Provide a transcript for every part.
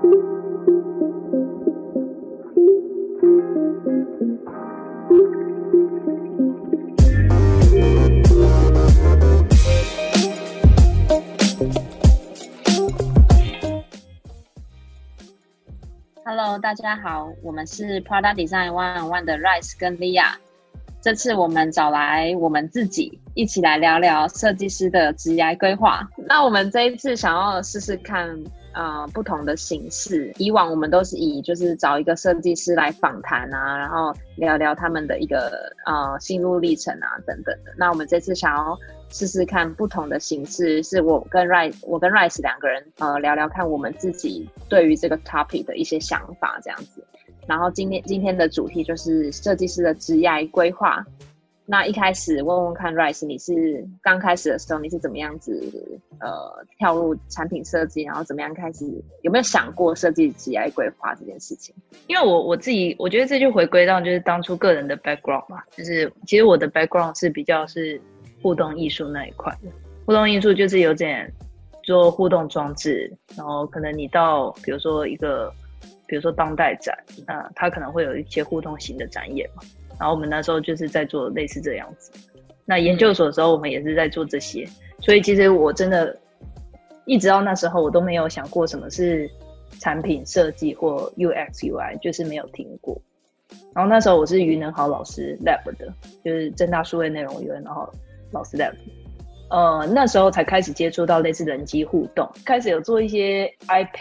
Hello， 大家好，我们是 Product Design One-on-One 的 Rice 跟 Lia。这次我们找来我们自己一起来聊聊设计师的职业规划。那我们这一次想要试试看不同的形式。以往我们都是以就是找一个设计师来访谈啊，然后聊聊他们的一个心路历程啊等等的。那我们这次想要试试看不同的形式，是我跟 Rice 两个人聊聊看我们自己对于这个 topic 的一些想法这样子。然后今天的主题就是设计师的职业规划。那一开始问问看 Rice， 你是刚开始的时候你是怎么样子跳入产品设计，然后怎么样开始，有没有想过设计职业规划这件事情？ 因为我自己我觉得这就回归到就是当初个人的 background 嘛，就是其实我的 background 是比较是互动艺术那一块的。互动艺术就是有点做互动装置，然后可能你到比如说当代展，它可能会有一些互动型的展演嘛，然后我们那时候就是在做类似这样子。那研究所的时候我们也是在做这些，所以其实我真的一直到那时候我都没有想过什么是产品设计或 UX UI， 就是没有听过。然后那时候我是于能豪老师 lab 的，就是政大数位内容于能豪老师 lab。那时候才开始接触到类似人机互动，开始有做一些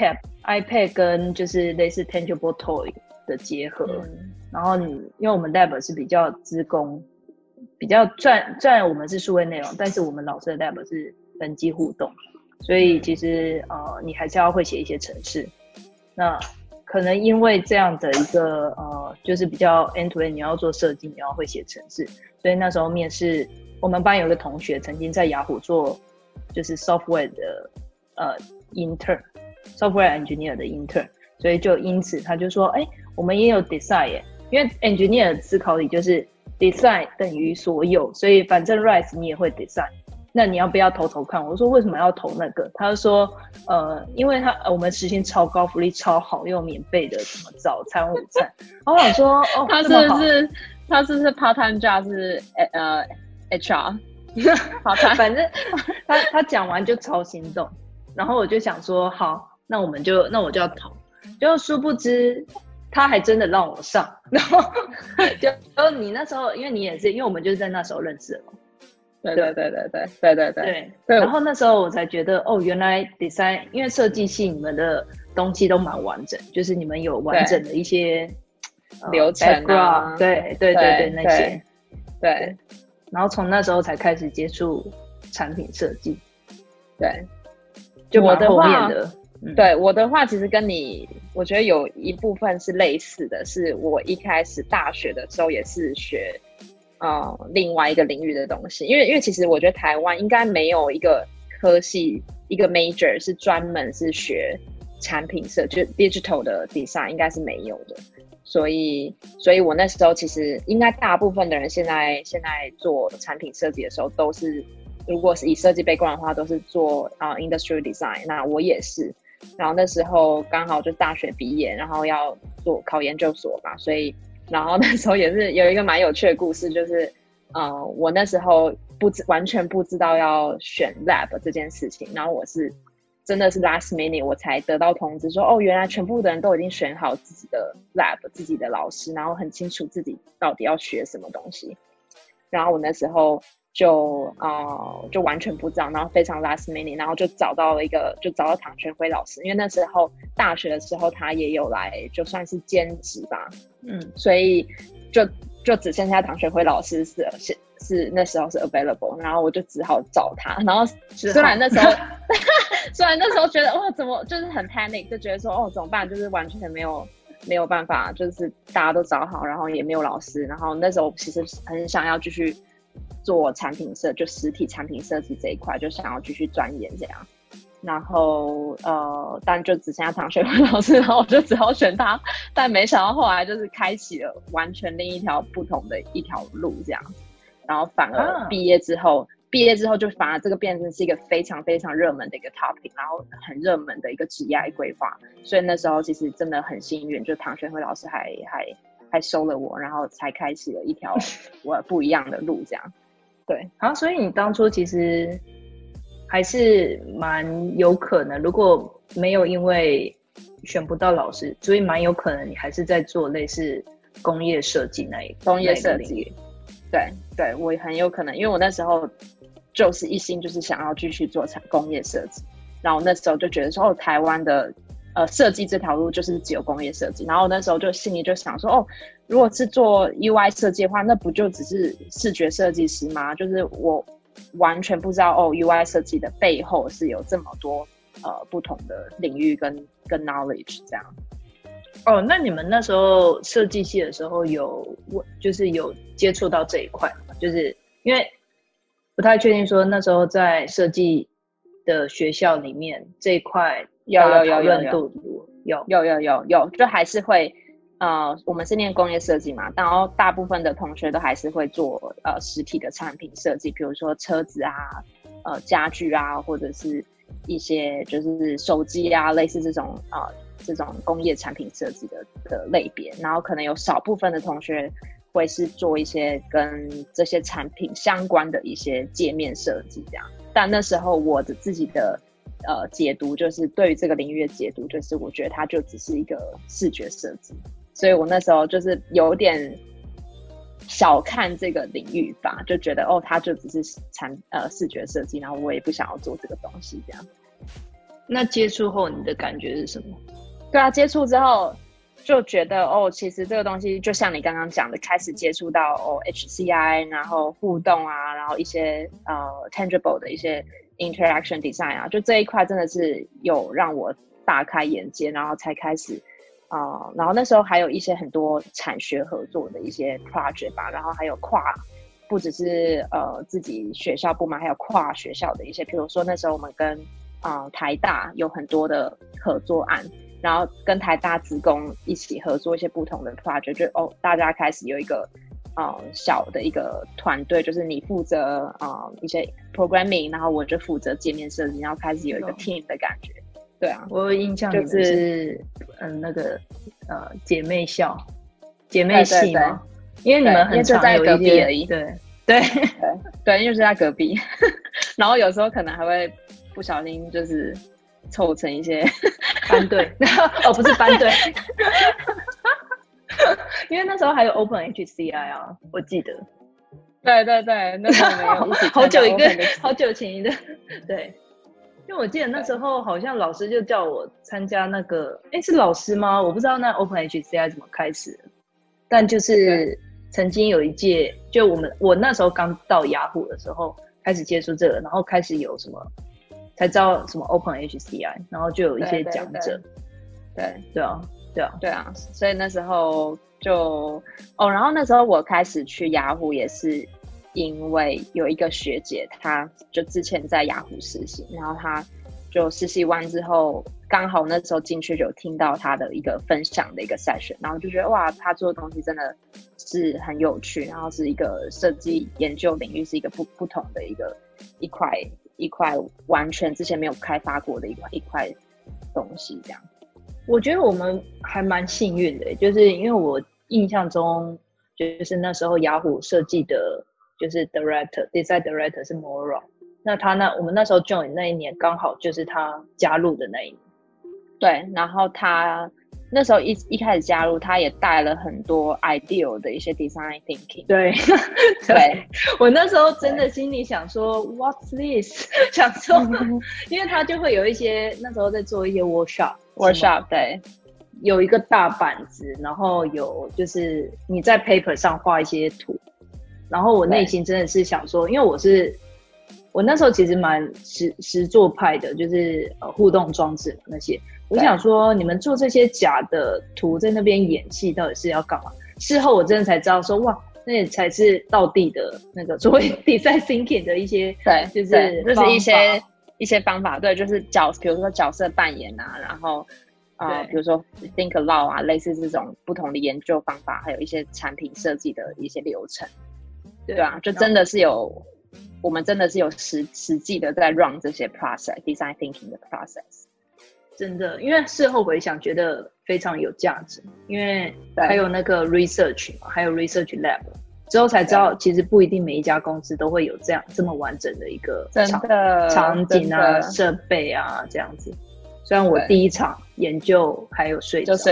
iPad 跟就是类似 tangible toy 的结合。然后因为我们 lab 是比较资工，比较虽然我们是数位内容，但是我们老师的 lab 是人机互动，所以其实你还是要会写一些程式。那可能因为这样的一个就是比较 end to end， 你要做设计，你要会写程式，所以那时候面试。我们班有个同学曾经在雅虎做就是 software 的intern， software engineer 的 intern， 所以就因此他就说我们也有 design 耶，因为 engineer 的思考里就是 design 等于所有，所以反正 Rice 你也会 design， 那你要不要投看？我说为什么要投那个？他就说因为我们时薪超高，福利超好，又有免费的什么早餐午餐。然后我想说他是不是 part time job 是HR 反正他讲完就超心动，然后我就想说好，那我就要投，就殊不知他还真的让我上，然后就你那时候因为你也是，因为我们就是在那时候认识的嘛。对，然后那时候我才觉得原来 design 因为设计系你们的东西都蛮完整，就是你们有完整的一些流程啊， 对那些对。 然后从那时候才开始接触产品设计。 对， 就蛮后面的。 对，我的话其实跟你我觉得有一部分是类似的，是我一开始大学的时候也是学另外一个领域的东西，因为其实我觉得台湾应该没有一个科系一个 major 是专门是学产品设计，就 digital 的 design 应该是没有的。所以我那时候其实应该大部分的人现在做产品设计的时候都是，如果是以设计 background 的话都是做industrial design， 那我也是。然后那时候刚好就大学毕业，然后要考研究所吧，所以然后那时候也是有一个蛮有趣的故事，就是我那时候完全不知道要选 lab 这件事情，然后我是真的是 last minute 我才得到通知说原来全部的人都已经选好自己的 lab 自己的老师，然后很清楚自己到底要学什么东西。然后我那时候就完全不知道，然后非常 last minute， 然后就找到唐玄辉老师，因为那时候大学的时候他也有来就算是兼职吧，所以就只剩下唐玄辉老师是那时候是 available， 然后我就只好找他。然后虽然那时候觉得怎么就是很 panic， 就觉得说怎么办，就是完全没有办法，就是大家都找好，然后也没有老师。然后那时候其实很想要继续做产品设，就实体产品设计这一块，就想要继续钻研这样。然后但就只剩下唐学文老师，然后我就只好选他。但没想到后来就是开启了完全另一条不同的一条路这样。然后反而毕业之后毕业之后就反而这个变成是一个非常非常热门的一个 topic， 然后很热门的一个职业规划，所以那时候其实真的很幸运，就唐玄慧老师还收了我，然后才开启了一条我不一样的路，这样。对， 好，所以你当初其实还是蛮有可能，如果没有因为选不到老师，所以蛮有可能你还是在做类似工业设计工业设计。对，我很有可能，因为我那时候就是一心就是想要继续做工业设计，然后那时候就觉得说，台湾的设计这条路就是只有工业设计，然后那时候就心里就想说，如果是做 UI 设计的话，那不就只是视觉设计师吗？就是我完全不知道UI 设计的背后是有这么多不同的领域跟 knowledge 这样。 那你们那时候设计系的时候就是有接触到这一块吗？就是因为不太确定说那时候在设计的学校里面这一块讨论度有，就还是会我们是念工业设计嘛，然后大部分的同学都还是会做实体的产品设计，比如说车子啊、家具啊，或者是一些就是手机啊，类似这种工业产品设计的类别，然后可能有少部分的同学会是做一些跟这些产品相关的一些界面设计这样。但那时候我的自己的解读，就是对于这个领域的解读，就是我觉得它就只是一个视觉设计，所以我那时候就是有点小看这个领域吧，就觉得它就只是视觉设计，然后我也不想要做这个东西这样。 那接触后你的感觉是什么？ 对啊，接触之后就觉得其实这个东西就像你刚刚讲的，开始接触到HCI， 然后互动啊，然后一些tangible 的一些 interaction design 啊，就这一块真的是有让我大开眼界，然后才开始然后那时候还有一些很多产学合作的一些 project 吧，然后还有不只是自己学校部门，还有跨学校的一些，比如说那时候我们跟台大有很多的合作案，然后跟台大职工一起合作一些不同的 project， 就大家开始有一个小的一个团队，就是你负责一些 programming， 然後我就负责界面设计，然后开始有一个 team 的感觉。对啊， 我有印象就是那个姐妹系嘛，因为你们很常有一些， 因为就在隔壁而已。 对， 因为是在隔壁，然后有时候可能还会不小心就是凑成一些班队不是班队因为那时候还有 Open HCI 啊，我记得。 对，那时候没有一起好久前的，对。因为我记得那时候好像老师就叫我参加那个，是老师吗？我不知道那 Open HCI 怎么开始的，但就是曾经有一届，就我那时候刚到雅虎的时候开始接触这个，然后开始有什么才知道什么 Open HCI， 然后就有一些讲者。 对啊，所以那时候就然后那时候我开始去雅虎也是因为有一个学姐，她就之前在雅虎实习，然后她就实习完之后，刚好那时候进去就有听到她的一个分享的一个 session， 然后就觉得哇，她做的东西真的是很有趣，然后是一个设计研究领域是一个不同的一块完全之前没有开发过的一块东西这样。 我觉得我们还蛮幸运的，就是因为我印象中就是那时候雅虎设计的就是 design director 是 Mora， 那我们那时候 join 那一年刚好就是他加入的那一年。 对，然后他那时候一开始加入，他也带了很多 ideal 的一些 design thinking。 对，我那时候真的心里想说 What's this？ 想说，因为他就会有一些那时候在做一些 workshop， 对， 有一个大板子，然后有就是你在 paper 上画一些图，然后我内心真的是想说，因为我那时候其实蛮实作派的，就是互动装置那些。我想说，你们做这些假的图在那边演戏，到底是要干嘛？事后我真的才知道说，哇，那也才是道地的那个所谓 design thinking 的一些，就是一些方法，对，就是比如说角色扮演啊，然后比如说 think aloud 啊，类似这种不同的研究方法，还有一些产品设计的一些流程，对啊，就真的是有我们真的是有实际的在 run 这些 design thinking 的 process。 真的，因为事后回想觉得非常有价值，因为还有那个 research 嘛，还有 research lab， 之后才知道其实不一定每一家公司都会有这么完整的一个场景啊、设备啊这样子。虽然我第一场研究还有睡着，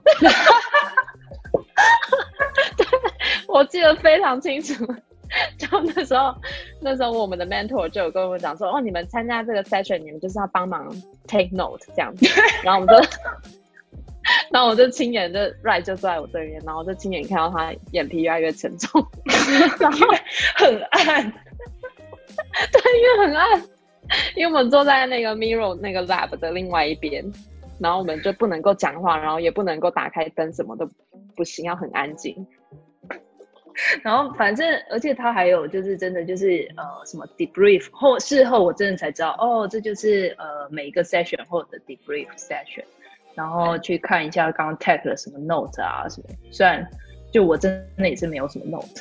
我记得非常清楚。就那时候我们的 mentor 就有跟我们讲说，哦，你们参加这个 session， 你们就是要帮忙 take note 这样子。然后我就亲眼就 Right 就坐在我对面，然后我就亲眼看到他眼皮越来越沉重， 然后很暗， 对，因为很暗，因为我们坐在那个 Miro 那个 lab 的另外一边，然后我们就不能够讲话，然后也不能够打开灯，什么都不行，要很安静。 然后反正而且他还有就是真的就是什么 debrief 事后我真的才知道哦，这就是每一个 session 后的 debrief session， 然后去看一下刚刚 tag 了什么 note 啊什么，虽然就我真的也是没有什么 note。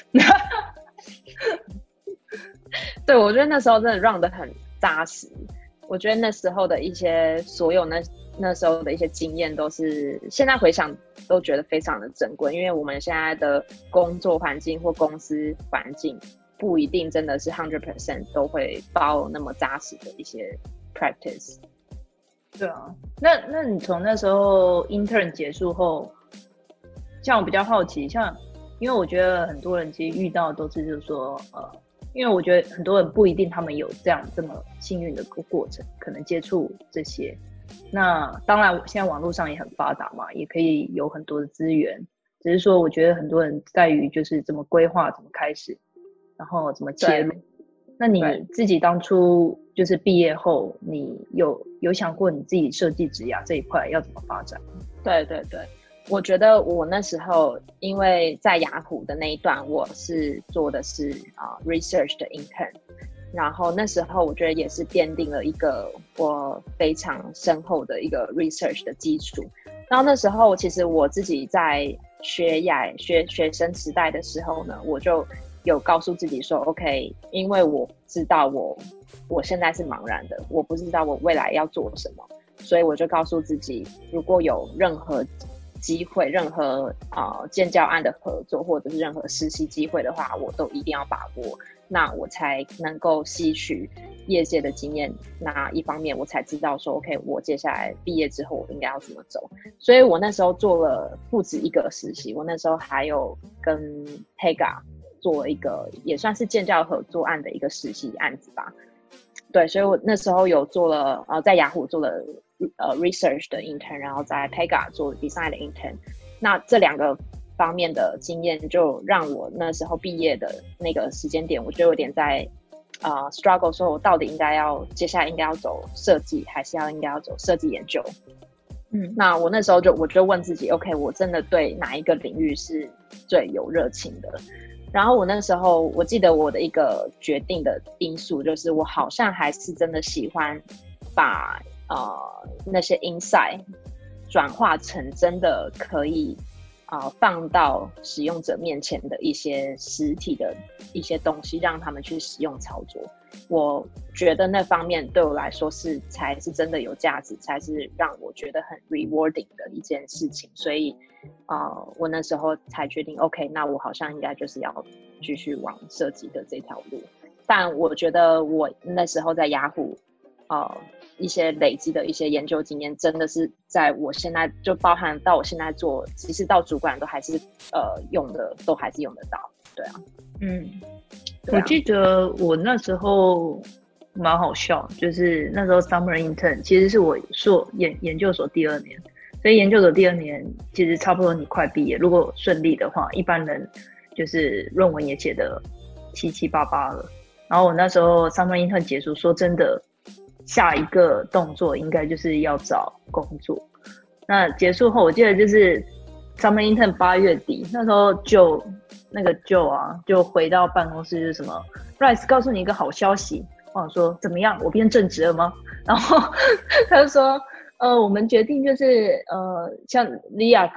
对，我觉得那时候真的 run 得很扎实，我觉得那时候的一些所有那时候的一些经验都是现在回想都觉得非常的珍贵，因为我们现在的工作环境或公司环境不一定真的是 100% 都会包那么扎实的一些 practice。 对啊，那你从那时候 intern 结束后，像我比较好奇，像因为我觉得很多人其实遇到都是就是说因为我觉得很多人不一定他们有这么幸运的过程，可能接触这些。那当然现在网络上也很发达嘛，也可以有很多的资源，只是说我觉得很多人在于就是怎么规划，怎么开始，然后怎么切入。那你自己当初就是毕业后，你有想过你自己设计职涯这一块要怎么发展？ 对对对，我觉得我那时候因为在雅虎的那一段，我是做的是research 的 intern， 然后那时候我觉得也是奠定了一个我非常深厚的一个 research 的基础。然后那时候其实我自己在学生时代的时候呢，我就有告诉自己说 OK， 因为我知道我现在是茫然的，我不知道我未来要做什么，所以我就告诉自己，如果有任何机会，任何建教案的合作或者是任何实习机会的话，我都一定要把握，那我才能够吸取业界的经验。那一方面我才知道说 OK， 我接下来毕业之后我应该要怎么走。所以我那时候做了不止一个实习，我那时候还有跟 Pega 做了一个也算是建教合作案的一个实习案子吧。对，所以我那时候有做了在雅虎做了research 的 intern， 然后在 Pega 做 design 的 intern。 那这两个方面的经验就让我那时候毕业的那个时间点，我就有点在struggle 说我到底接下来应该要走设计还是应该要走设计研究。那我那时候我就问自己 OK， 我真的对哪一个领域是最有热情的。然后我那时候我记得我的一个决定的因素就是我好像还是真的喜欢把那些 insight 转化成真的可以放到使用者面前的一些实体的一些东西，让他们去使用操作。我觉得那方面对我来说才是真的有价值，才是让我觉得很 rewarding 的一件事情。所以我那时候才决定 OK， 那我好像应该就是要继续往设计的这条路。但我觉得我那时候在雅虎一些累积的一些研究经验，真的是在我现在就包含到我现在做，其实到主管都还是用的，都还是用得到。对啊。 我记得我那时候蛮好笑，就是那时候 summer intern 其实是我研究所第2年，所以研究所第2年其实差不多你快毕业，如果顺利的话，一般人就是论文也写得七七八八了。然后我那时候 summer intern 结束，说真的，下一个动作应该就是要找工作。那结束后，我记得就是 summer intern 8月底，那时候就回到办公室，就是什么 Rice 告诉你一个好消息。我想说怎么样，我变正职了吗？然后他就说我们决定就是像 Lia 跟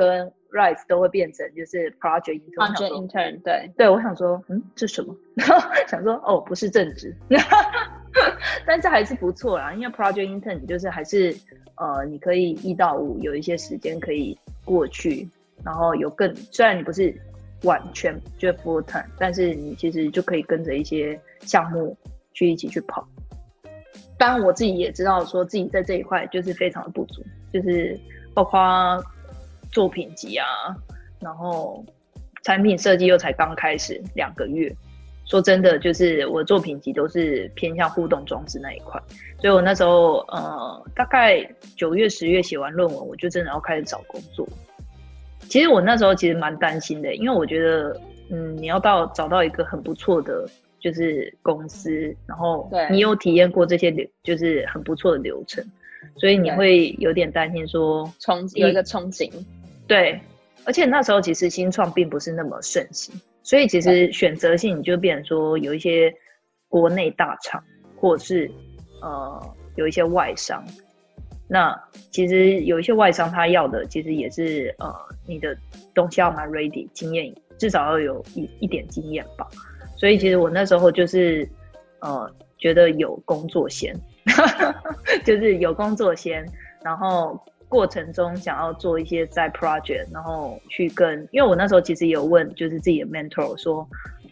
Rise 都会变成就是 Project Intern， 对对，我想说这是什么？想说哦不是正职，但是还是不错啦，因为 Project Intern 你就是还是你可以1到5有一些时间可以过去，然后虽然你不是完全就 full time， 但是你其实就可以跟着一些项目一起去跑。当然我自己也知道说自己在这一块就是非常的不足，就是包括作品集啊，然后产品设计又才刚开始2个月，说真的就是我作品集都是偏向互动装置那一块，所以我那时候大概9月10月写完论文，我就真的要开始找工作。其实我那时候其实蛮担心的，因为我觉得你要找到一个很不错的就是公司，然后你有体验过这些就是很不错的流程，所以你会有点担心说有一个憧憬。 对，而且那时候其实新创并不是那么盛行，所以其实选择性你就变成说有一些国内大厂，或者是有一些外商。那其实有一些外商他要的其实也是你的东西要蛮 ready， 经验至少要有一点经验吧。所以其实我那时候就是觉得有工作先就是有工作先，然后过程中想要做一些在 project， 然后去因为我那时候其实也有问就是自己的 mentor 说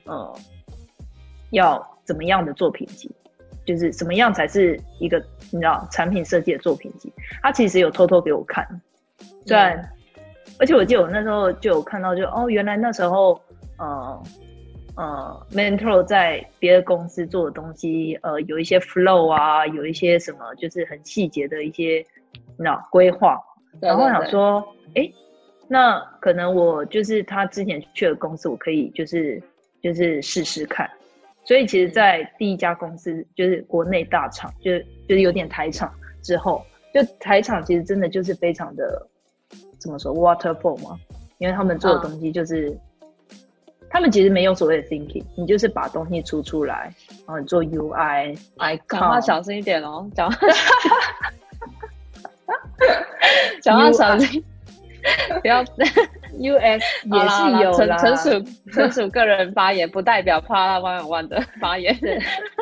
要怎么样的作品集，就是什么样才是一个你知道产品设计的作品集，他其实有偷偷给我看，虽然而且我记得我那时候就有看到原来那时候mentor 在别的公司做的东西有一些 flow 啊，有一些什么就是很细节的一些你知道规划，然后想说那可能我就是他之前去的公司我可以就是试试看。所以其实在第一家公司就是国内大厂就是有点台厂之后，就台厂其实真的就是非常的怎么说 waterfall 嘛，因为他们做的东西就是他们其实没有所谓的 thinking， 你就是把东西出来，然后你做 UI icon。 讲话小心一点哦，讲话小心不要 US 也是有啦， 纯属个人发言，不代表帕拉101的发言。 对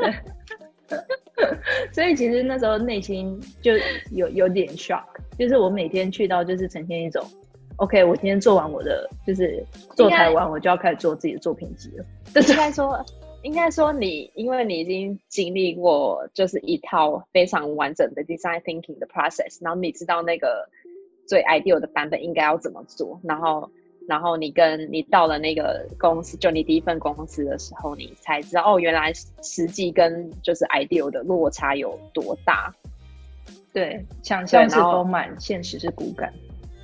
所以其实那时候内心就有点 shock， 就是我每天去到就是呈现一种 OK， 我今天做完我的就是做台湾，我就要开始做自己的作品集了。 应该说因为你已经经历过就是一套非常完整的 design thinking 的 process， 然后你知道那个最 ideal 的版本应该要怎么做，然后你到了那个公司，就你第一份公司的时候，你才知道原来实际跟就是 ideal 的落差有多大。 对，想象是丰满，现实是骨感。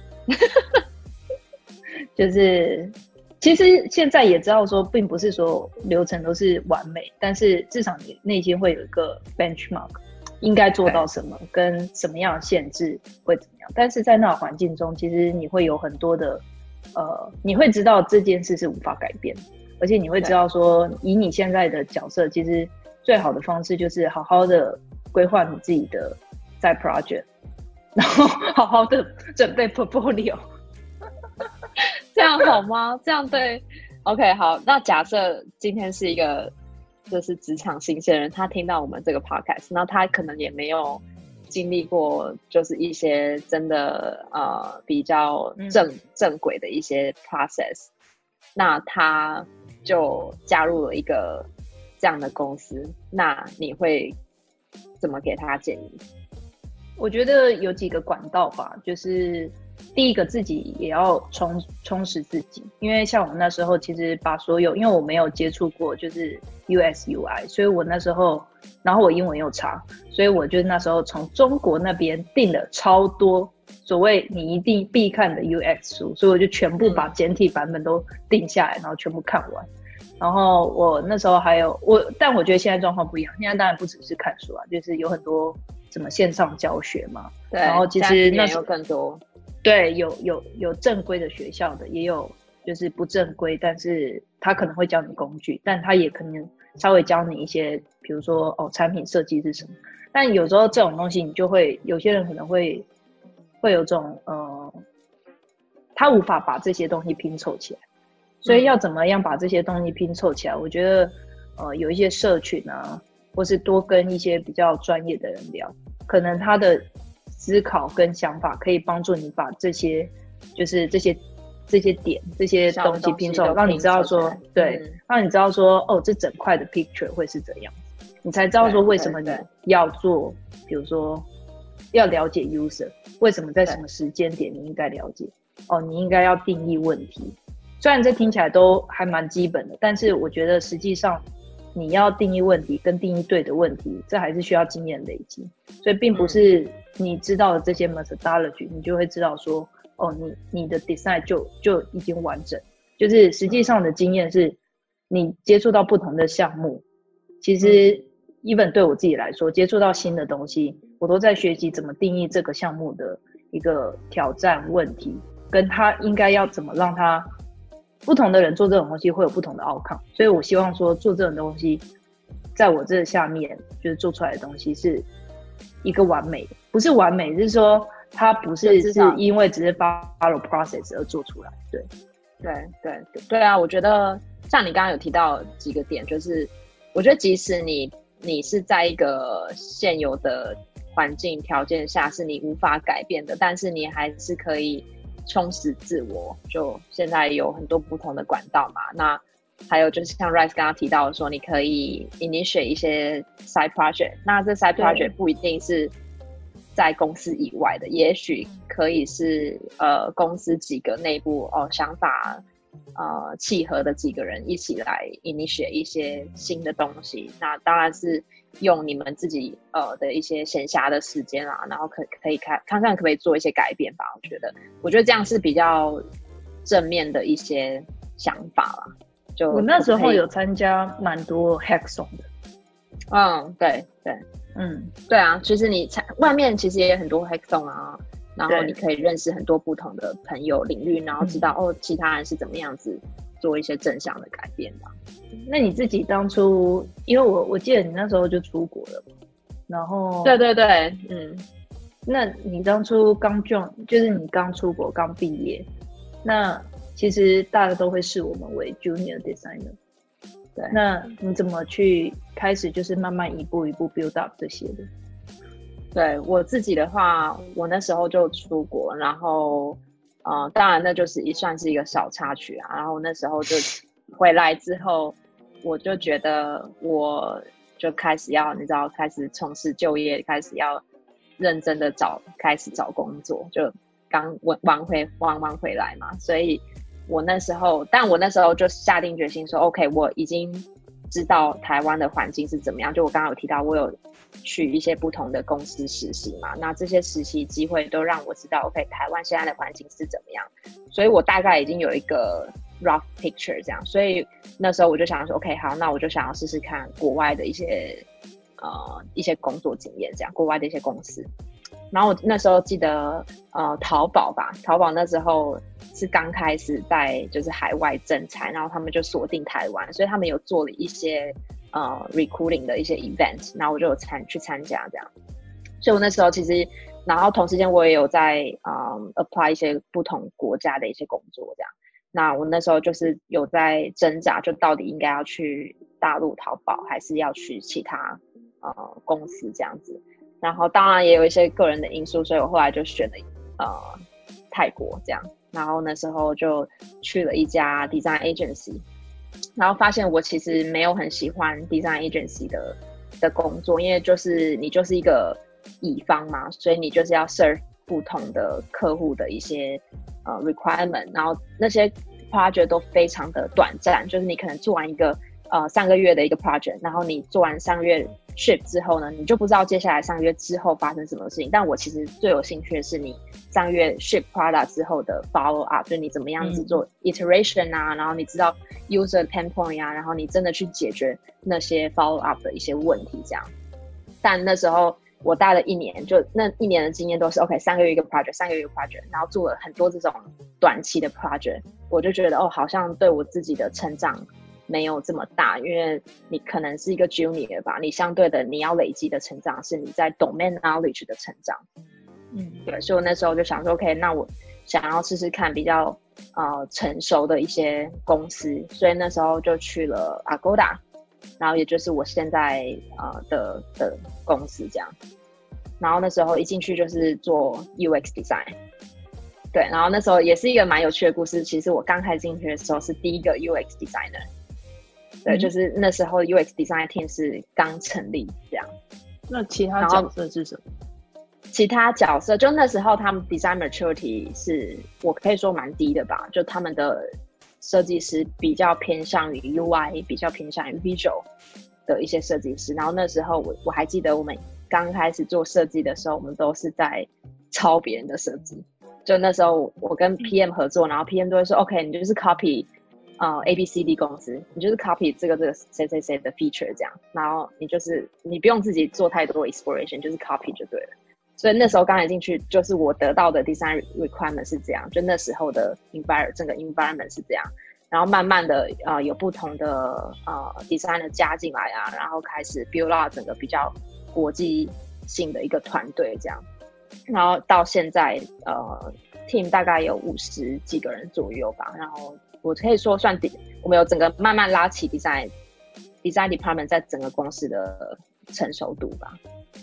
就是其实现在也知道说并不是说流程都是完美，但是至少你内心会有一个 benchmark， 应该做到什么跟什么样的限制会怎么样。但是在那个环境中其实你会有很多的你会知道这件事是无法改变，而且你会知道说以你现在的角色，其实最好的方式就是好好的规划你自己的在 project， 然后好好的准备 portfolio。 这样好吗？这样对 OK 好。那假设今天是一个就是职场新鲜人，他听到我们这个 podcast， 那他可能也没有经历过就是一些真的比较正轨的一些 process， 那他就加入了一个这样的公司，那你会怎么给他建议？ 我觉得有几个管道吧，就是第一个自己也要充实自己，因为像我那时候其实把因为我没有接触过就是 US UI， 所以我那时候然后我英文又差，所以我就那时候从中国那边订了超多所谓你一定必看的 UX 书，所以我就全部把简体版本都订下来，然后全部看完。然后我那时候还有但我觉得现在状况不一样，现在当然不只是看书啊，就是有很多什么线上教学嘛。 对， 然后其实那时候有更多。 对，有正规的学校的，也有就是不正规，但是他可能会教你工具，但他也可能稍微教你一些，比如说产品设计是什么。但有时候这种东西你就会有些人可能会有种他无法把这些东西拼凑起来。所以要怎么样把这些东西拼凑起来？我觉得有一些社群啊，或是多跟一些比较专业的人聊，可能他的思考跟想法可以帮助你把这些就是这些点这些东西拼凑，让你知道说对，让你知道说这整块的 picture 会是怎样，你才知道说为什么你要做，比如说要了解 user， 为什么在什么时间点你应该了解，你应该要定义问题。虽然这听起来都还蛮基本的，但是我觉得实际上你要定义问题跟定义对的问题，这还是需要经验累积。所以并不是你知道了这些 methodology， 你就会知道说你的 design 就已经完整。就是实际上的经验是你接触到不同的项目，其实 even 对我自己来说，接触到新的东西，我都在学习怎么定义这个项目的一个挑战问题，跟他应该要怎么让他不同的人做这种东西会有不同的 outcome。 所以我希望说做这种东西在我这下面就是做出来的东西是一个完美的，不是完美，就是说它不是因为只是 follow process 而做出来。 对啊，我觉得像你刚刚有提到几个点，就是我觉得即使你是在一个现有的环境条件下是你无法改变的，但是你还是可以充实自我。就现在有很多不同的管道嘛，那还有就是像 Rice 刚刚提到的说，你可以 initiate 一些 side project， 那这 side project 不一定是在公司以外的，也许可以是公司几个内部想法契合的几个人一起来 initiate 一些新的东西。那当然是用你们自己的一些闲暇的时间啊，然后可以看看可不可以做一些改变吧。我觉得这样是比较正面的一些想法啦。就我那时候有参加蛮多 hackathon 的。 对，对啊，其实你外面其实也有很多 hackathon 啊，然后你可以认识很多不同的朋友领域，然后知道其他人是怎么样子做一些正向的改变的。 那你自己当初，因为我记得你那时候就出国了，然后对， 那你当初刚就是你刚出国刚毕业，那其实大家都会视我们为 junior designer。对，那你怎么去开始就是慢慢一步一步 build up 这些的？ 对，我自己的话，我那时候就出国，然后当然那就是算是一个小插曲啊。然后那时候就回来之后，我就觉得我就开始要，你知道，开始从事就业，开始要认真的开始找工作，就刚玩回来嘛。所以我那时候就下定决心说 OK， 我已经知道台湾的环境是怎么样。就我刚刚有提到，我有去一些不同的公司实习嘛，那这些实习机会都让我知道 OK 台湾现在的环境是怎么样，所以我大概已经有一个 rough picture 这样。所以那时候我就想说 OK 好，那我就想要试试看国外的一些工作经验，这样国外的一些公司。然后我那时候记得淘宝那时候是刚开始在就是海外征才，然后他们就锁定台湾，所以他们有做了一些recruiting 的一些 event， 然后我就有去参加这样。所以我那时候其实，然后同时间我也有在apply 一些不同国家的一些工作这样。那我那时候就是有在挣扎，就到底应该要去大陆淘宝还是要去其他公司这样子。然后当然也有一些个人的因素，所以我后来就选了泰国这样。然后那时候就去了一家 design agency， 然后发现我其实没有很喜欢 design agency 的工作，因为就是你就是一个乙方嘛，所以你就是要 serve 不同的客户的一些requirement， 然后那些 project 都非常的短暂，就是你可能做完一个3个月的一个 project， 然后你做完3个月 ship 之后呢，你就不知道接下来3个月之后发生什么事情。但我其实最有兴趣的是你3个月 ship product 之后的 follow up， 就你怎么样子做 iteration 啊，然后你知道 user pain point 啊，然后你真的去解决那些 follow up 的一些问题这样。但那时候我待了1年，就那1年的经验都是 OK 3个月一个 project， 3个月一个 project， 然后做了很多这种短期的 project， 我就觉得好像对我自己的成长没有这么大，因为你可能是一个 junior 吧，你相对的你要累积的成长是你在 domain knowledge 的成长。对，所以我那时候就想说 OK， 那我想要试试看比较成熟的一些公司，所以那时候就去了 Agoda， 然后也就是我现在的公司这样。然后那时候一进去就是做 UX design， 对，然后那时候也是一个蛮有趣的故事。其实我刚开始进去的时候是第一个 UX designer， 对，就是那时候 UX design team 是刚成立这样。 那其他角色是什么？ 其他角色就那时候他们 design maturity 是我可以说蛮低的吧，就他们的设计师比较偏向于 UI， 比较偏向于 visual 的一些设计师。然后那时候我还记得我们刚开始做设计的时候，我们都是在抄别人的设计。就那时候我跟 PM 合作，然后 PM 都会说 OK 你就是 copy ABCD 公司，你就是 copy 这个谁谁谁的 feature 这样，然后你不用自己做太多 exploration， 就是 copy 就对了。所以那时候刚才进去，就是我得到的 design requirement 是这样，就那时候的整个 environment 是这样。然后慢慢的有不同的designer 加进来啊，然后开始 build up 整个比较国际性的一个团队这样。然后到现在team 大概有50几个人左右吧，然后我可以说我们有整个慢慢拉起 design department 在整个公司的成熟度吧。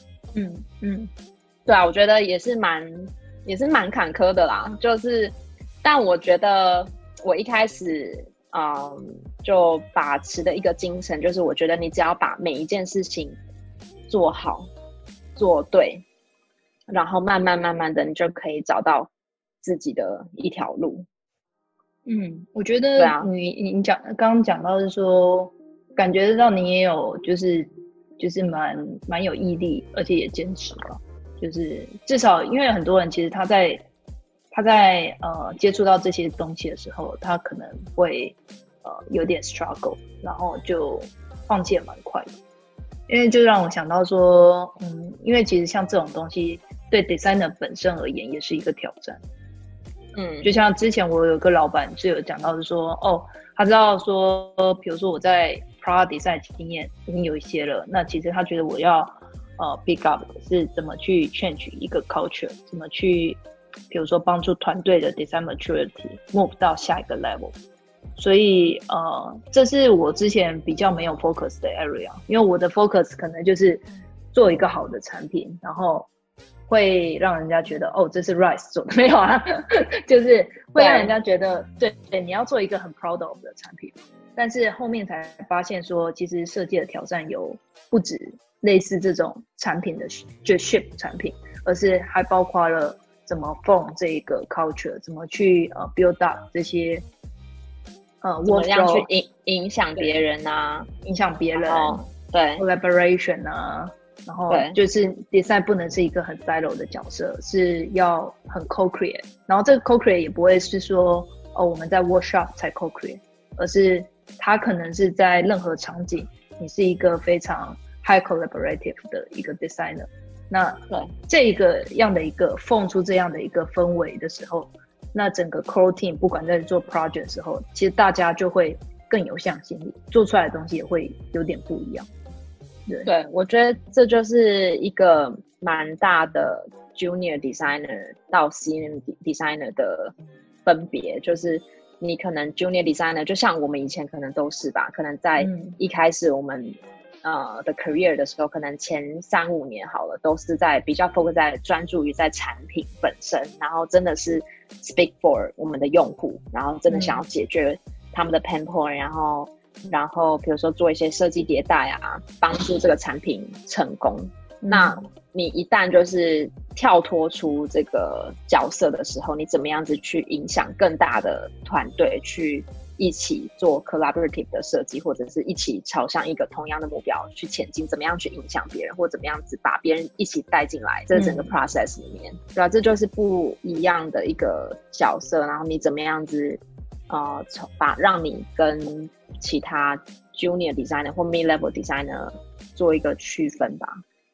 对啊，我觉得也是蛮坎坷的啦，就是但我觉得我一开始就把持的一个精神就是我觉得你只要把每一件事情做好做对，然后慢慢的你就可以找到自己的一条路。 我觉得你刚刚讲到是说感觉到你也有就是蛮有毅力，而且也坚持吧。就是至少因为很多人其实他在接触到这些东西的时候，他可能会有点 struggle， 然后就放弃也蛮快的。因为就让我想到说因为其实像这种东西对 designer 本身而言也是一个挑战。就像之前我有个老板是有讲到是说他知道说比如说我在 product design 经验已经有一些了，那其实他觉得我要pick up 是怎么去 change 一个 culture， 怎么去比如说帮助团队的 design maturity move 到下一个 level。 所以这是我之前比较没有 focus 的 area， 因为我的 focus 可能就是做一个好的产品，然后会让人家觉得这是 Rice 做的，没有啊就是会让人家觉得对你要做一个很 proud of 的产品。但是后面才发现说其实设计的挑战有不止类似这种产品的就 ship 产品，而是还包括了怎么 form 这个 culture， 怎么去build up 这些怎么样去影响别人啊， 影响别人对 collaboration 啊，然后就是 design 不能是一个很 silo 的角色，是要很 co-create， 然后这个 co-create 也不会是说我们在 workshop 才 co-create， 而是它可能是在任何场景你是一个非常 high collaborative 的一个 designer， 那这个样的一个放出这样的一个氛围的时候，那整个 core team 不管在做 project 的时候，其实大家就会更有向心力，做出来的东西也会有点不一样。对， 我觉得这就是一个蛮大的 junior designer 到 senior designer 的分别，就是你可能 junior designer 就像我们以前可能都是吧，可能在一开始我们的 career 的时候，可能前3-5年好了，都是在比较 focus 在专注于在产品本身，然后真的是 speak for 我们的用户，然后真的想要解决他们的 pain point，然后比如说做一些设计迭代啊，帮助这个产品成功。那你一旦就是跳脱出这个角色的时候，你怎么样子去影响更大的团队，去一起做 collaborative 的设计，或者是一起朝向一个同样的目标去前进，怎么样去影响别人，或怎么样子把别人一起带进来这整个 process 里面，对啊，这就是不一样的一个角色，然后你怎么样子让你跟其他 junior designer 或 mid level designer 做一个区分吧。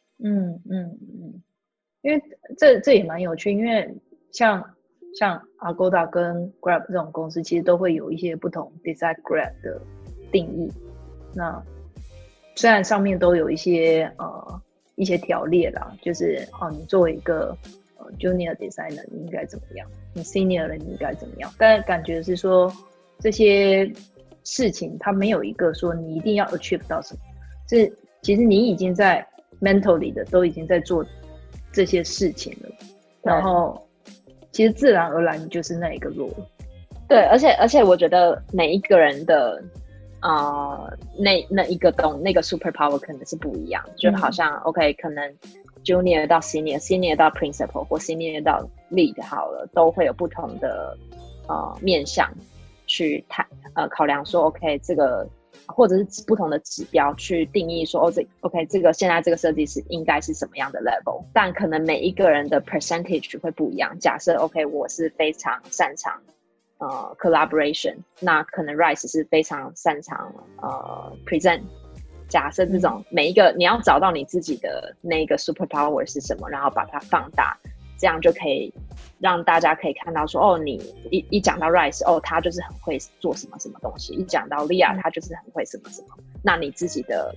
因为这也蛮有趣，因为像 Agoda 跟 Grab 这种公司其实都会有一些不同 design grad 的定义，那虽然上面都有一些条列啦，就是你作为一个 junior designer 你应该怎么样，你 senior 了你应该怎么样，但感觉是说这些事情它没有一个说你一定要 achieve 到什么，是其实你已经在 mentally 的都已经在做这些事情了，然后其实自然而然你就是那一个role了。 对，而且我觉得每一个人的那一个那个 super power 可能是不一样，就好像 OK 可能 junior 到 senior 到 principal 或 senior 到 lead 好了，都会有不同的面向去考量说 OK 这个或者是不同的指标去定义说OK 这个现在这个设计师应该是什么样的 level， 但可能每一个人的 percentage 会不一样。假设 OK 我是非常擅长collaboration， 那可能 Rice 是非常擅长present。假设这种每一个你要找到你自己的那个 superpower 是什么，然后把它放大，这样就可以让大家可以看到说你一讲到 Rice 他就是很会做什么什么东西，一讲到 Leah 他就是很会什么什么，那你自己的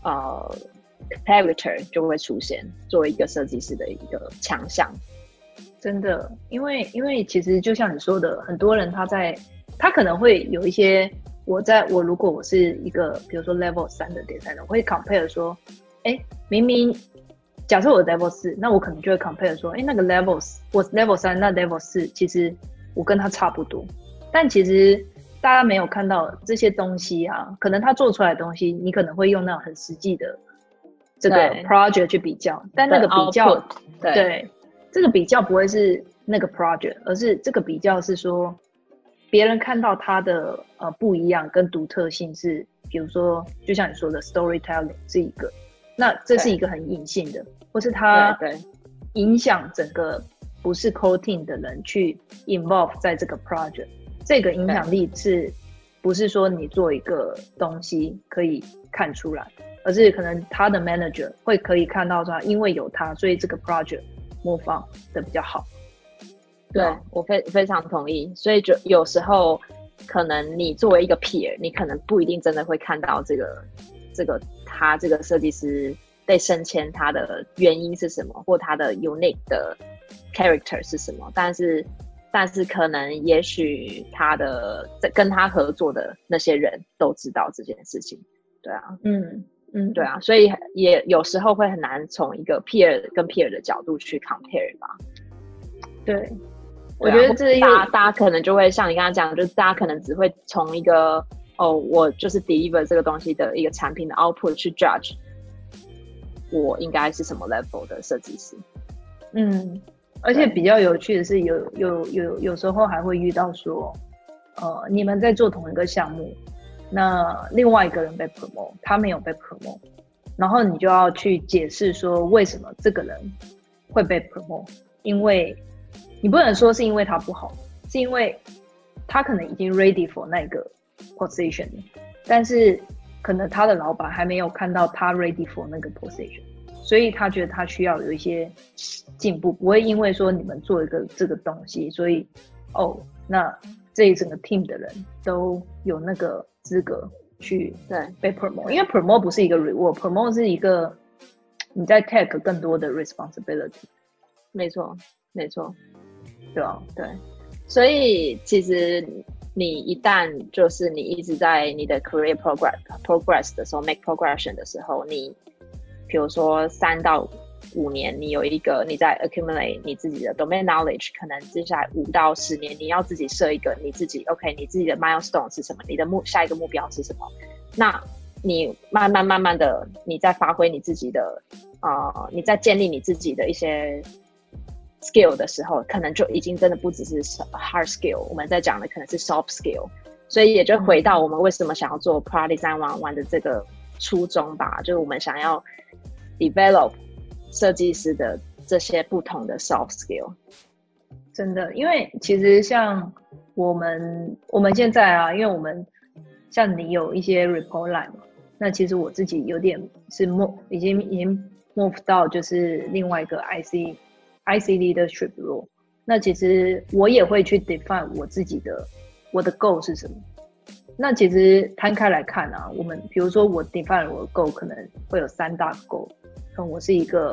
character 就会出现作为一个设计师的一个强项。 真的，因为其实就像你说的，很多人他可能会有一些，我如果我是一个比如说 level 3的 designer， 我会 compare 说，明明假设我 level 4，那我可能就会 compare 说，那个 我 level 3，那 level 4其实我跟他差不多，但其实大家没有看到这些东西啊，可能他做出来的东西，你可能会用那种很实际的这个 project 去比较，但那个比较，对。这个比较不会是那个 project， 而是这个比较是说别人看到它的不一样跟独特性是，比如说就像你说的 storytelling 是一个，那这是一个很隐性的，或是它影响整个不是 core team 的人去 involve 在这个 project， 这个影响力是不是说你做一个东西可以看出来，而是可能他的 manager 会可以看到说因为有他，所以这个 project模仿的比较好。 对，我非常同意。所以就有时候可能你作为一个 peer， 你可能不一定真的会看到他这个设计师被升迁他的原因是什么，或他的 unique 的 character 是什么，但是可能也许他的跟他合作的那些人都知道这件事情。对啊，对啊，所以也有时候会很难从一个 peer 跟 peer 的角度去 compare 吧。 对，我觉得这大家可能就会像你刚刚讲，就是大家可能只会从一个我就是 deliver 这个东西的一个产品的 output 去 judge 我应该是什么 level 的设计师。 而且比较有趣的是有时候还会遇到说你们在做同一个项目，那另外一个人被 promote， 他没有被 promote， 然后你就要去解释说为什么这个人会被 promote， 因为你不能说是因为他不好，是因为他可能已经 ready for 那个 position， 但是可能他的老板还没有看到他 ready for 那个 position， 所以他觉得他需要有一些进步，不会因为说你们做一个这个东西，所以那这一整个 team 的人都有那个资格去被 promote， 因为 promote 不是一个 reward， promote 是一个你在 take 更多的 responsibility。 没错， 对啊， 对，所以其实你一旦就是你一直在你的 career progress 的时候 make progression 的时候，你比如说3到5年你有一个你在 accumulate 你自己的 domain knowledge， 可能接下来5到10年你要自己设一个你自己 OK 你自己的 milestone 是什么，你的下一个目标是什么，那你慢慢的你在发挥你自己的你在建立你自己的一些 skill 的时候，可能就已经真的不只是 hard skill， 我们在讲的可能是 soft skill， 所以也就回到我们为什么想要做 Product Design 101的这个初衷吧，就是我们想要 develop 设计师的这些不同的 soft skill。 真的，因为其实像我们现在啊，因为我们像你有一些 report line 嘛，那其实我自己有点是已经 move 到就是另外一个 IC leadership role， 那其实我也会去 define 我的 goal 是什么。那其实摊开来看啊，我们比如说我 define 我的 goal 可能会有3大 goal， 可能我是一个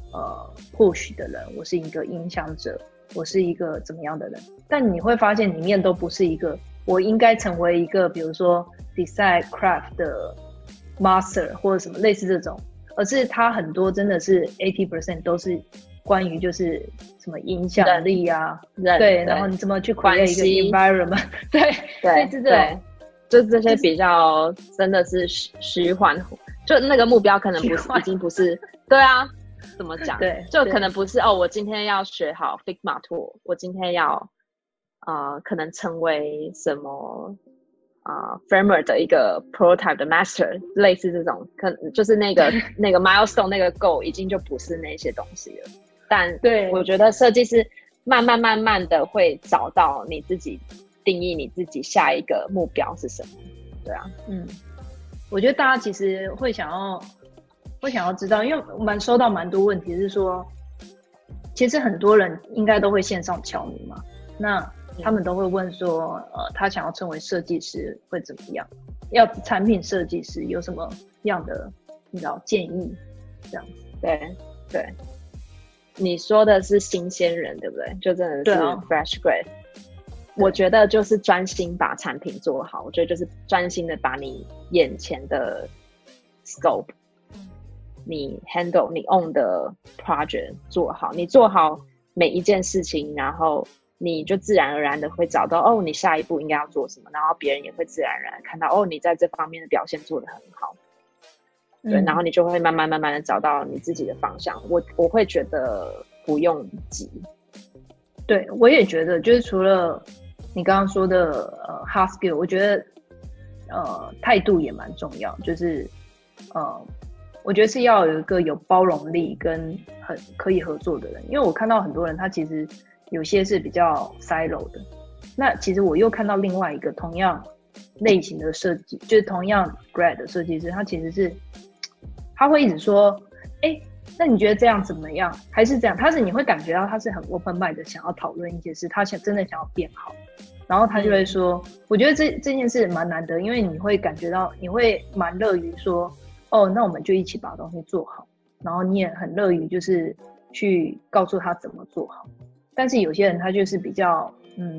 push 的人，我是一个影响者，我是一个怎么样的人，但你会发现里面都不是一个我应该成为一个比如说 design craft 的 master 或者什么类似这种，而是它很多真的是 80% 都是关于就是什么影响力啊，对，然后你怎么去 create 一个 environment， 对， 对，就这些比较真的是虚幻，就那个目标可能不是已经不是，对啊，怎么讲？ 对， 就可能不是我今天要学好 Figma tool， 我今天要可能成为什么framework 的一个 prototype 的 master， 类似这种，可能就是那个milestone 那个 goal 已经就不是那些东西了。但对我觉得设计师慢慢的会找到你自己定义你自己下一个目标是什么。对啊， 我觉得大家其实会想要知道，因为收到蛮多问题是说，其实很多人应该都会线上敲你嘛，那他们都会问说，他想要成为设计师会怎么样？要产品设计师有什么样的你知道建议？这样对，你说的是新鲜人对不对？就真的是 fresh grad。我觉得就是专心把产品做好，我觉得就是专心的把你眼前的 scope， 你 handle 你 own 的 project 做好，你做好每一件事情，然后你就自然而然的会找到你下一步应该要做什么，然后别人也会自然而然看到你在这方面的表现做得很好，对，然后你就会慢慢的找到你自己的方向。我会觉得不用急。 对，我也觉得就是除了你刚刚说的hard skill， 我觉得态度也蛮重要，就是我觉得是要有一个有包容力跟很可以合作的人，因为我看到很多人他其实有些是比较 silo 的，那其实我又看到另外一个同样类型的设计，就是同样 grad 的设计师，他其实是他会一直说那你觉得这样怎么样？还是这样？你会感觉到他是很 open mind 的，想要讨论一些事，他真的想要变好。然后他就会说，我觉得这件事蛮难得，因为你会感觉到，你会蛮乐于说，那我们就一起把东西做好。然后你也很乐于就是去告诉他怎么做好。但是有些人他就是比较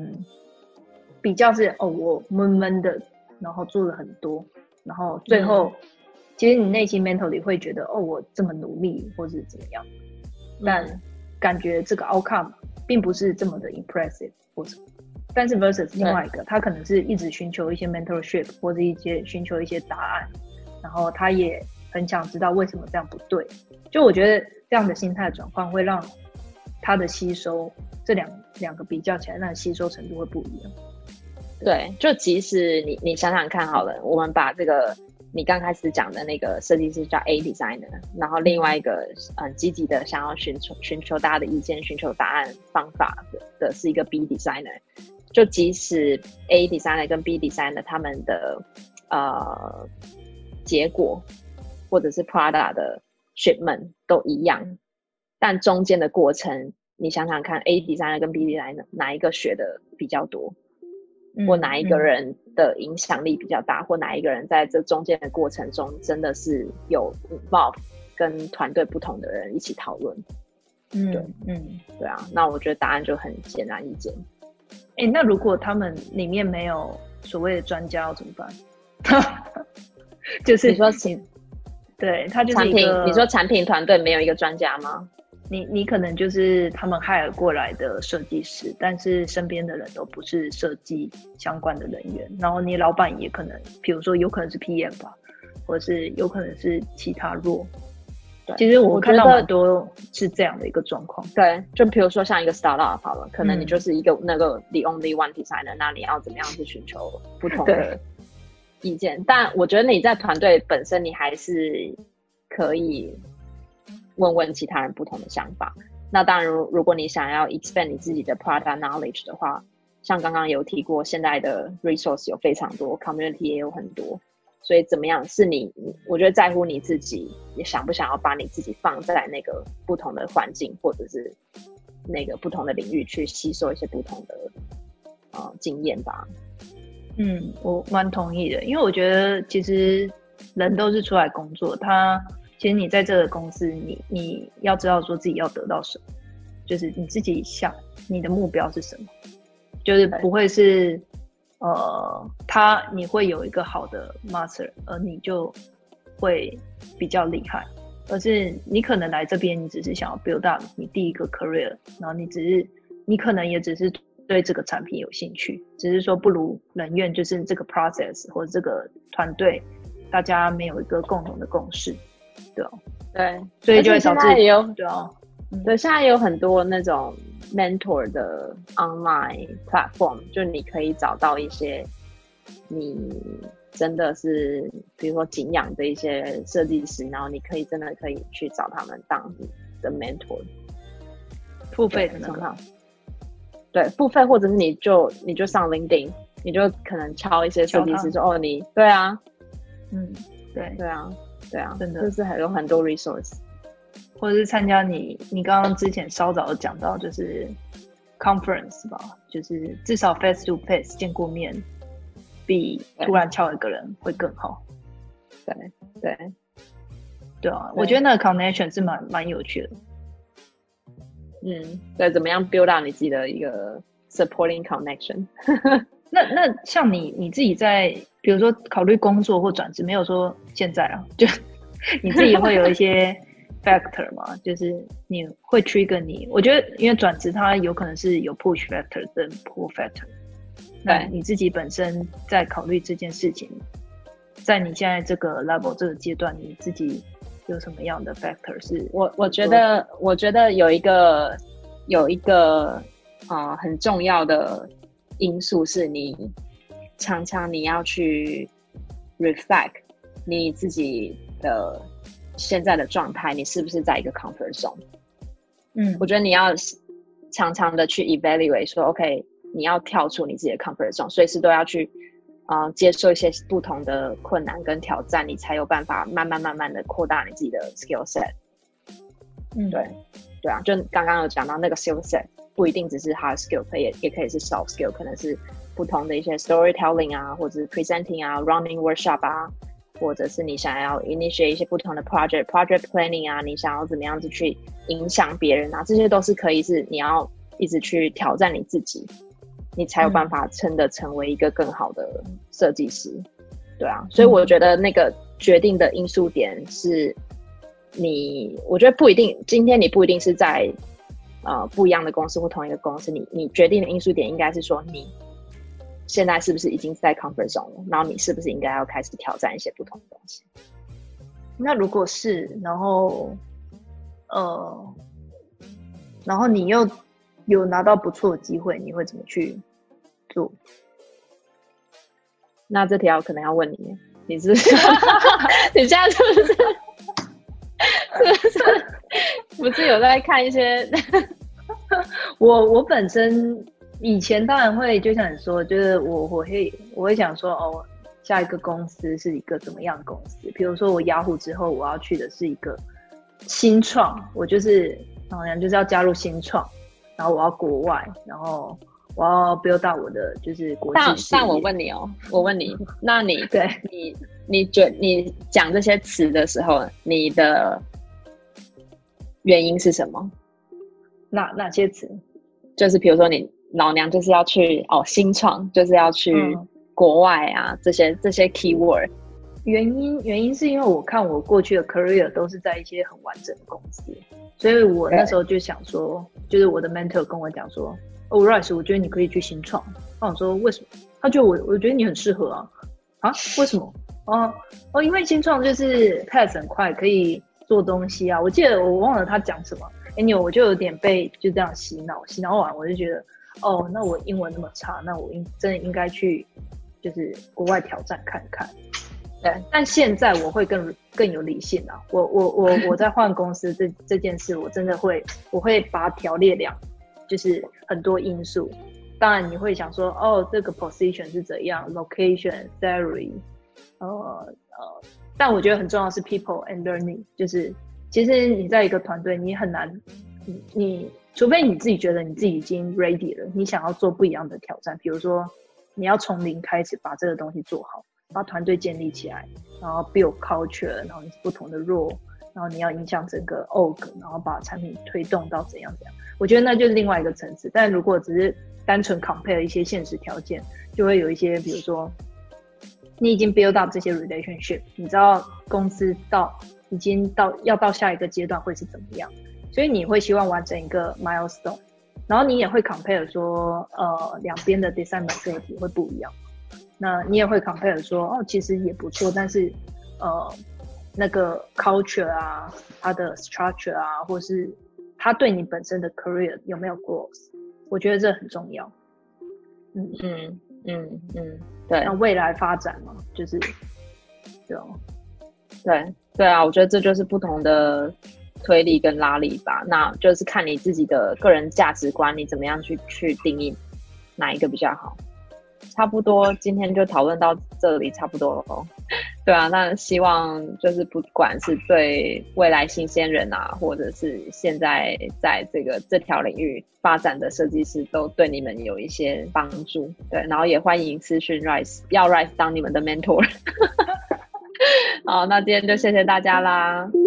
是我闷闷的，然后做了很多，然后最后。其实你内心 mentally 会觉得我这么努力或是怎么样，但感觉这个 outcome 并不是这么的 impressive 或什么。但是 versus 另外一个，他可能是一直寻求一些 mentorship 或者寻求一些答案，然后他也很想知道为什么这样不对。就我觉得这样的心态转换会让他的吸收，这两个比较起来，那吸收程度会不一样。 对，就即使你想想看好了，我们把这个你刚开始讲的那个设计师叫 A designer， 然后另外一个积极的想要寻求大家的意见、寻求答案方法的是一个 B designer。就即使 A designer 跟 B designer 他们的结果或者是 Prada 的 shipment 都一样，但中间的过程，你想想看 ，A designer 跟 B designer 哪一个学的比较多？或哪一个人的影响力比较大，或哪一个人在这中间的过程中真的是有 involve 跟团队不同的人一起讨论。对啊，那我觉得答案就很显而易见。 那如果他们里面没有所谓的专家要怎么办？就是你说对，他就是一个你说产品团队没有一个专家吗？ 你可能就是他们 hire 过来的设计师，但是身边的人都不是设计相关的人员，然后你老板也可能，比如说有可能是 PM 吧，或者是有可能是其他role。其实我看到蛮多是这样的一个状况。 对，就比如说像一个 startup 好了，可能你就是一个那个 the only one designer，那你要怎么样去寻求不同的意见？但我觉得你在团队本身，你还是可以问其他人不同的想法。那当然如果你想要 expand 你自己的 product knowledge 的话，像刚刚有提过，现在的 resource 有非常多， community 也有很多，所以怎么样是我觉得在乎你自己，也想不想要把你自己放在那个不同的环境或者是那个不同的领域去吸收一些不同的经验吧。 我蛮同意的，因为我觉得其实人都是出来工作，他其实你在这个公司，你要知道说自己要得到什么，就是你自己想你的目标是什么，就是不会是你会有一个好的 master， 而你就会比较厉害，而是你可能来这边，你只是想要 build up 你第一个 career， 然后你可能也只是对这个产品有兴趣，只是说不如人愿，就是这个 process 或者这个团队，大家没有一个共同的共识，对啊， 对， 所以就会导致也有对啊， 对，现在有很多那种 mentor 的 online platform， 就你可以找到一些你真的是比如说敬仰的一些设计师，然后你真的可以去找他们当你的 mentor， 付费的那个。 对，付费，或者是你就上 LinkedIn， 你就可能敲一些设计师说哦，对啊，对啊，真的就是还有很多 resource， 或者是参加你刚刚之前稍早的讲到，就是 conference 吧，就是至少 face to face 见过面，比突然敲一个人会更好。对啊，我觉得那个 connection 是蛮有趣的。 对，怎么样 build up 你自己的一个 supporting connection 那像你自己在比如说考虑工作或转职，没有说现在啊，就你自己会有一些 factor 嘛，就是你会 trigger 你，我觉得因为转职它有可能是有 push factor 跟 pull factor， 那你自己本身在考虑这件事情，在你现在这个 level 这个阶段，你自己有什么样的 factor 是？ 我觉得有一个很重要的因素是你常常你要去 reflect 你自己的现在的状态，你是不是在一个 comfort zone？我觉得你要常常的去 evaluate 说 ，OK， 你要跳出你自己的 comfort zone， 随时都要去接受一些不同的困难跟挑战，你才有办法慢慢的扩大你自己的 skill set。对啊，就刚刚有讲到那个 skill set， 不一定只是 hard skill， 也可以是 soft skill， 可能是不同的一些 storytelling 啊，或者是 presenting 啊 ，running workshop 啊，或者是你想要 initiate 一些不同的 project planning 啊，你想要怎么样子去影响别人啊，这些都是可以是你要一直去挑战你自己，你才有办法真的成为一个更好的设计师。对啊，所以我觉得那个决定的因素点是我觉得不一定，今天你不一定是在不一样的公司或同一个公司，你决定的因素点应该是说你现在是不是已经在 comfort zone 了，然后你是不是应该要开始挑战一些不同的东西。 那如果是然后你又有拿到不错的机会，你会怎么去做？ 那这条可能要问你是不是你现在是不是有在看一些我本身以前当然会，就像你说，就是我会想说，哦，下一个公司是一个怎么样的公司？比如说我雅虎之后，我要去的是一个新创，我就是好像就是要加入新创，然后我要国外，然后我要 build up 我的就是国际事业。 但我问你，那你对你讲这些词的时候，你的原因是什么？ 哪些词？ 就是比如说你老娘就是要去新创，就是要去国外啊，这些 keyword。 原因是因为我看我过去的 career 都是在一些很完整的公司，所以我那时候就想说，就是我的 mentor 跟我讲说，Rice， 我觉得你可以去新创。那我说为什么？他觉得我觉得你很适合啊，为什么？因为新创就是 pace 很快，可以做东西啊。我记得我忘了他讲什么，anyway，我就有点被就这样洗脑完，我就觉得那我英文那么差，那我真的应该去就是国外挑战看看。对，但现在我会更有理性啊。我在换公司这件事，我真的我会把它条列两，就是很多因素。当然你会想说，这个 position 是怎样 ，location、salary，但我觉得很重要的是 people and learning， 就是其实你在一个团队，你很难，你除非你自己觉得你自己已经 ready 了，你想要做不一样的挑战，比如说你要从零开始把这个东西做好。把团队建立起来，然后 build culture， 然后不同的 role， 然后你要影响整个 org， 然后把产品推动到怎样怎样，我觉得那就是另外一个层次。但如果只是单纯 compare 一些现实条件，就会有一些，比如说你已经 build up 这些 relationship， 你知道公司已经要到下一个阶段会是怎么样，所以你会希望完成一个 milestone， 然后你也会 compare 说两边的 design maturity 会不一样，那你也会 compare 说其实也不错，但是那个 culture 啊，它的 structure 啊，或是它对你本身的 career 有没有 growth， 我觉得这很重要。 对。 那未来发展嘛，就是对啊，我觉得这就是不同的推力跟拉力吧。那就是看你自己的个人价值观，你怎么样去定义哪一个比较好。差不多今天就讨论到这里，差不多了。对啊，那希望就是不管是对未来新鲜人啊，或者是现在在这条领域发展的设计师，都对你们有一些帮助。对，然后也欢迎私讯 Rice， 要 Rice 当你们的 mentor。好，那今天就谢谢大家啦。